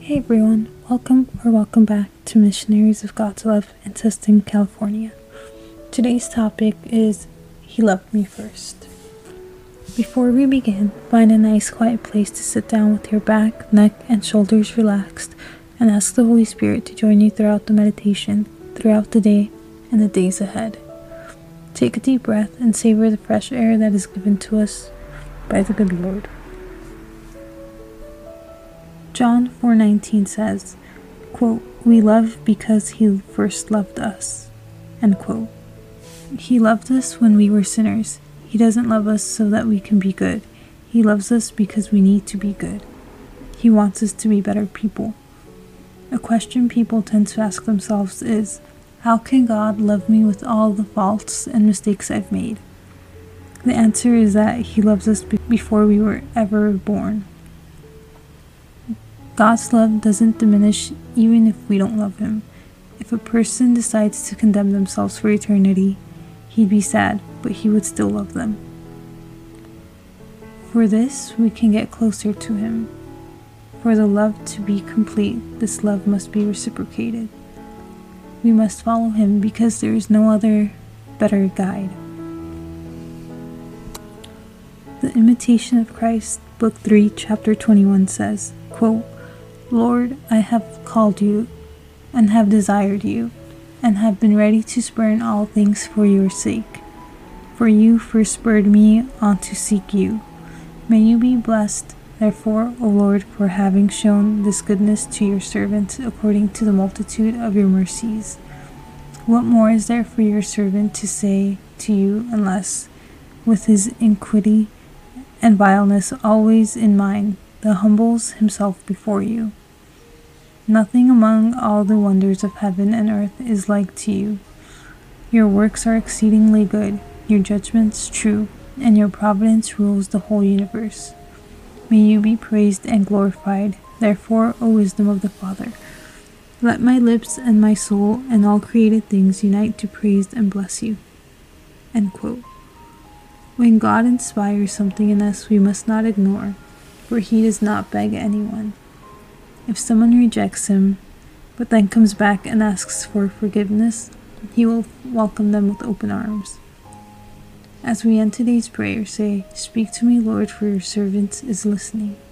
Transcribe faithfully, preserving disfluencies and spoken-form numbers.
Hey everyone, welcome or welcome back to Missionaries of God's Love in Tustin, California. Today's topic is He Loved Me First. Before we begin, find a nice quiet place to sit down with your back, neck, and shoulders relaxed and ask the Holy Spirit to join you throughout the meditation, throughout the day, and the days ahead. Take a deep breath and savor the fresh air that is given to us by the good Lord. John four nineteen says, quote, "We love because He first loved us." End quote. He loved us when we were sinners. He doesn't love us so that we can be good. He loves us because we need to be good. He wants us to be better people. A question people tend to ask themselves is, how can God love me with all the faults and mistakes I've made? The answer is that He loves us be- before we were ever born. God's love doesn't diminish even if we don't love Him. If a person decides to condemn themselves for eternity, He'd be sad, but He would still love them. For this, we can get closer to Him. For the love to be complete, this love must be reciprocated. We must follow Him because there is no other better guide. The Imitation of Christ, Book three, Chapter twenty-one says, quote, "Lord, I have called you, and have desired you, and have been ready to spurn all things for your sake. For you first spurred me on to seek you. May you be blessed, therefore, O Lord, for having shown this goodness to your servant according to the multitude of your mercies. What more is there for your servant to say to you unless, with his iniquity and vileness always in mind, that humbles himself before you? Nothing among all the wonders of heaven and earth is like to you. Your works are exceedingly good, your judgments true, and your providence rules the whole universe. May you be praised and glorified, therefore, O wisdom of the Father. Let my lips and my soul and all created things unite to praise and bless you." End quote. When God inspires something in us, we must not ignore, for He does not beg anyone. If someone rejects Him, but then comes back and asks for forgiveness, He will welcome them with open arms. As we end today's prayer, say, "Speak to me, Lord, for your servant is listening."